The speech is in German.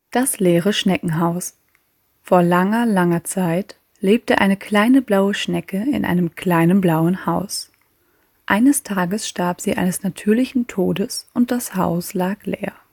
Das leere Schneckenhaus. Vor langer, langer Zeit lebte eine kleine blaue Schnecke in einem kleinen blauen Haus. Eines Tages starb sie eines natürlichen Todes und das Haus lag leer.